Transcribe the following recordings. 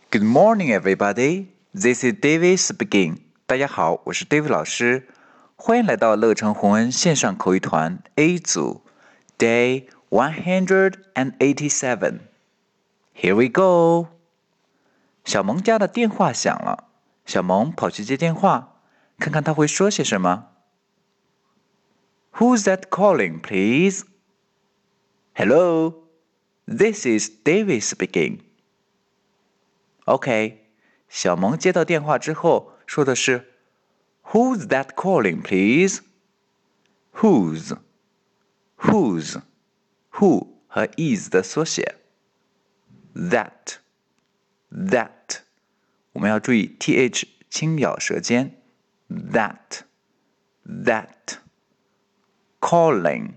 Good morning, everybody. This is David speaking. 大家好，我是 David 老师，欢迎来到乐成宏恩线上口语团 A 组 Day 187. Here we go. 小萌家的电话响了，小萌跑去接电话，看看他会说些什么。Who's that calling, please? Hello, this is David speaking. OK, 小萌接到电话之后说的是 Who's that calling, please? Who 和 is 的缩写 That 我们要注意 th 轻咬舌尖 That Calling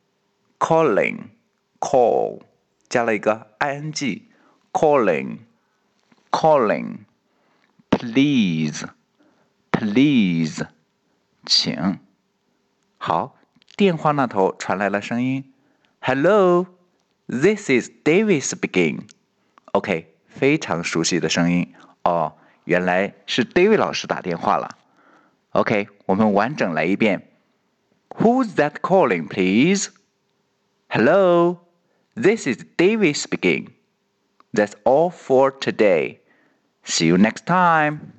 Call 加了一个 ing Calling Please 请。好，电话那头传来了声音 Hello, this is David speaking. OK, 非常熟悉的声音哦，原来是 David 老师打电话了。OK, 我们完整来一遍。Who's that calling, please? Hello, this is David speaking. That's all for today. See you next time.